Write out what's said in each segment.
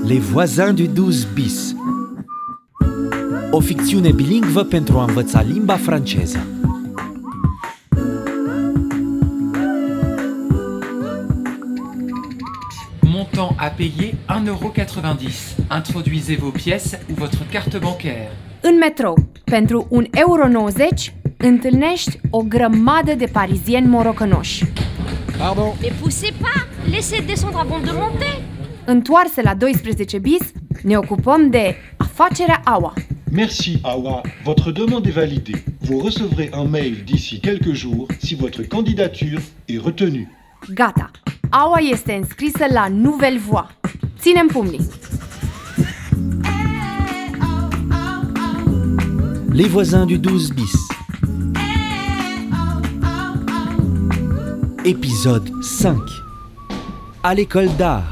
Les voisins du 12 bis. O ficțiune bilingvă pentru a învăța limba franceză. Montant à payer 1,90 €. Introduisez vos pièces ou votre carte bancaire. În metrou, pentru 1,90 € întâlnești o grămadă de parizieni morocănoși. Pardon. Mais poussez pas! Laissez descendre avant de monter! Întoarse la 12 bis, ne ocupăm de afacerea Awa. Merci Awa, votre demande est validée. Vous recevrez un mail d'ici quelques jours si votre candidature est retenue. Gata, Awa este înscrisă la Nouvelle Voie. Ținem pumnii! Les voisins du 12 bis. Épisode 5. À l'école d'art.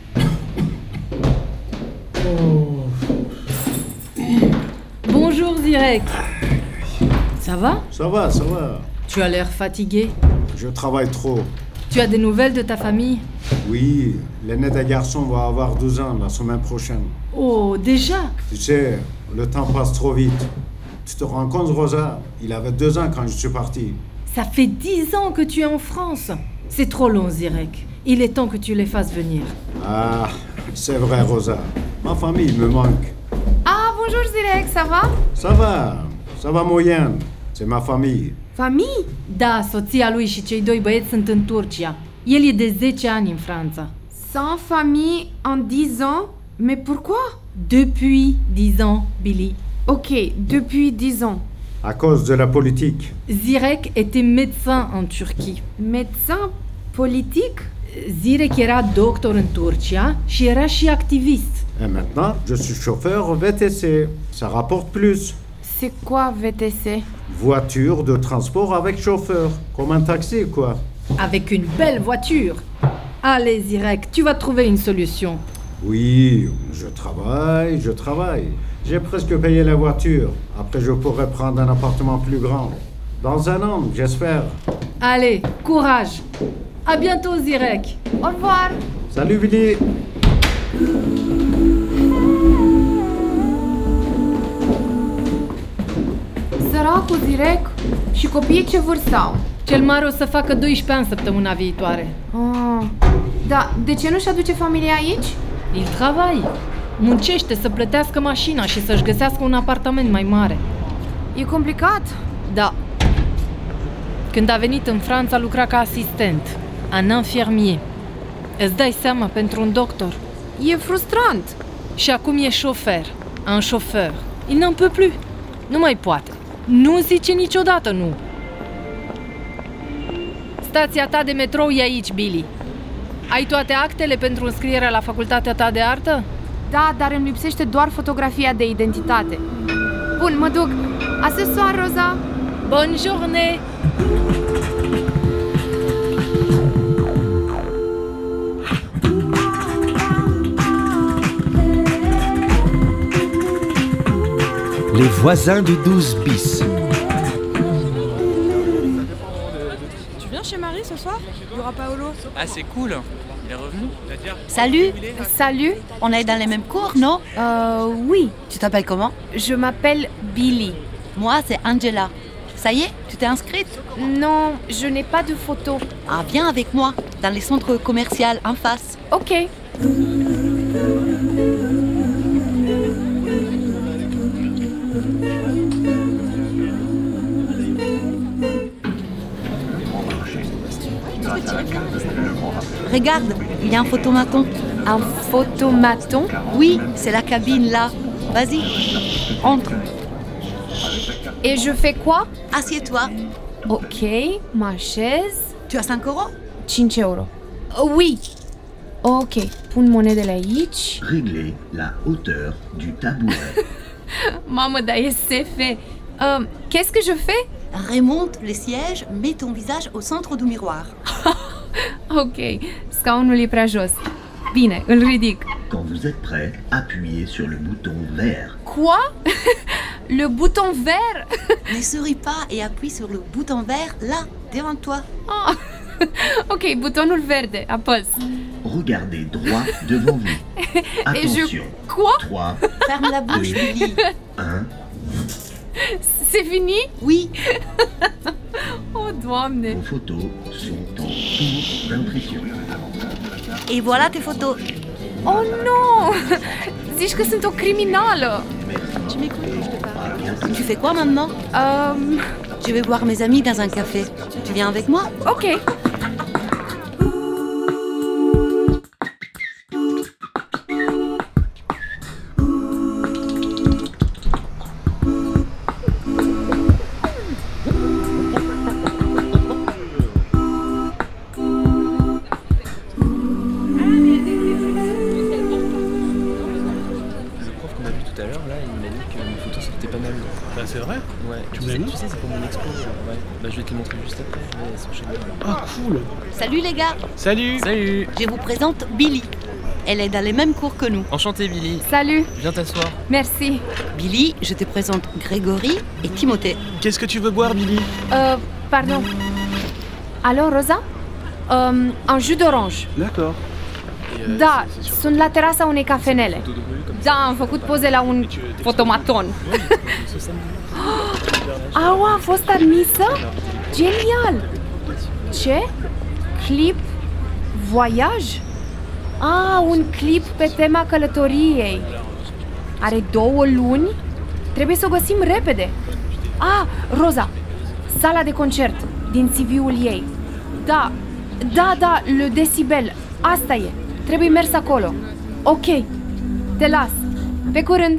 Bonjour Zirek. Ça va? Ça va, ça va. Tu as l'air fatigué. Je travaille trop. Tu as des nouvelles de ta famille? Oui, l'aîné des garçons va avoir 12 ans la semaine prochaine. Oh, déjà? Tu sais, le temps passe trop vite. Tu te rends compte, Rosa? Il avait 2 ans quand je suis parti. Ça fait 10 ans que tu es en France. C'est trop long, Zirek. Il est temps que tu les fasses venir. Ah, c'est vrai, Rosa. Ma famille me manque. Ah, bonjour Zirek, ça va? Ça va moyen. C'est ma famille. Famille? Da, soția lui și cei 2 băieți sunt în Turcia. El e de 10 ani în Franța. Sans famille en 10 ans? Mais pourquoi? Depuis 10 ans, Billy. Ok, depuis 10 ans. À cause de la politique. Zirek était médecin en Turquie. Médecin politique? Zirek era doctor în Turcia și era și activist. Et maintenant, je suis chauffeur VTC. Ça rapporte plus. C'est quoi VTC? Voiture de transport avec chauffeur. Comme un taxi, quoi. Avec une belle voiture. Allez, Zirek, tu vas trouver une solution. Oui, je travaille. J'ai presque payé la voiture. Après, je pourrais prendre un appartement plus grand. Dans un an, j'espère. Allez, courage. À bientôt, Zirek. Au revoir! Salut, Billy. Săracul Zirek și copiii ce vârstă au? Cel mare o să facă 12 ani săptămâna viitoare. Ah, da, de ce nu-și aduce familia aici? Il travaille. Muncește să plătească mașina și să-și găsească un apartament mai mare. E complicat? Da. Când a venit în Franța, lucra ca asistent, un infirmier. Îți dai seama, pentru un doctor. E frustrant. Și acum e șofer, un șofer. Il n'en peut plus. Nu mai poate. Nu zice niciodată nu. Stația ta de metrou e aici, Billy. Ai toate actele pentru înscrierea la facultatea ta de artă? Da, dar îmi lipsește doar fotografia de identitate. Bun, mă duc. A ce soir, Rosa! Bonne journée! Les voisins du 12 bis. Tu viens chez Marie ce soir? Il y aura Paolo. Ah, c'est cool. Il est revenu. Salut, Salut! on est dans les mêmes cours, non? Oui. Tu t'appelles comment? Je m'appelle Billy. Moi, c'est Angela. Ça y est, tu t'es inscrite? Non, je n'ai pas de photo. Ah, viens avec moi, dans les centres commerciaux en face. Ok. Regarde, il y a un photomaton. Un photomaton? Oui, c'est la cabine là. Vas-y, entre. Et je fais quoi? Assieds-toi. Ok, m'așez. Tu as 5 euros? 5 euro. Oui. Ok, pun monedele aici. Régler la hauteur du tabouret. Mamă, dar e SF. Qu'est-ce que je fais? Remonte les sièges, mets ton visage au centre du miroir. Ok, scaunul e prea jos. Bine, îl ridic. Quand vous êtes prêt, appuyez sur le bouton vert. Quoi? Le bouton vert? Ne souris pas et appuie sur le bouton vert là, devant toi. Ok, butonul verde, apăs. regardez droit devant vous. Attention. Quoi? 3, Ferme la bouche, Billy. 1. C'est fini? Oui. Oh, Doamne! Vos photos sont en cours d'impression. Et voilà tes photos. Oh non! Zici că sunt o criminală! Tu m'écoutes quand je te parle? Tu fais quoi maintenant? Je vais voir mes amis dans un café. Tu viens avec moi? Ok. C'est vrai? Ouais. Tu me l'as mis? Tu sais, c'est pour mon expo. Ouais. Bah, je vais te le montrer juste après. Mais c'est chez moi. Ah, cool! Salut les gars. Salut! Salut! Je vous présente Billy. Elle est dans les mêmes cours que nous. Enchanté, Billy. Salut! Viens t'asseoir. Merci. Billy, je te présente Grégory et Timothée. Qu'est-ce que tu veux boire, Billy? Pardon. Alo, Roza? Un jus d'orange. D'accord. Da, sunt la terasa unei cafenele. Da, am făcut poze la un fotomaton. Au, a fost admisă? Genial! Ce? Clip? Voiaj? Un clip pe tema călătoriei. Are 2 luni? Trebuie să o găsim repede. Roza, sala de concert din CV-ul ei. Da, Le Decibel, asta e. Trebuie mers acolo. Ok, te las. Pe curând!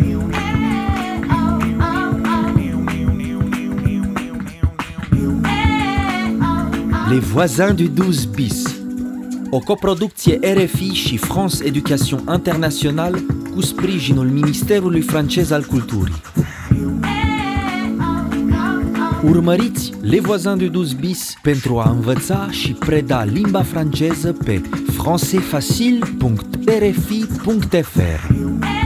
Les voisins du 12 bis. O coproducție RFI și France Education International cu sprijinul Ministerului francez al Culturii. Urmăriți Les voisins du 12 bis pentru a învăța și preda limba franceză pe françaisfacile.rfi.fr.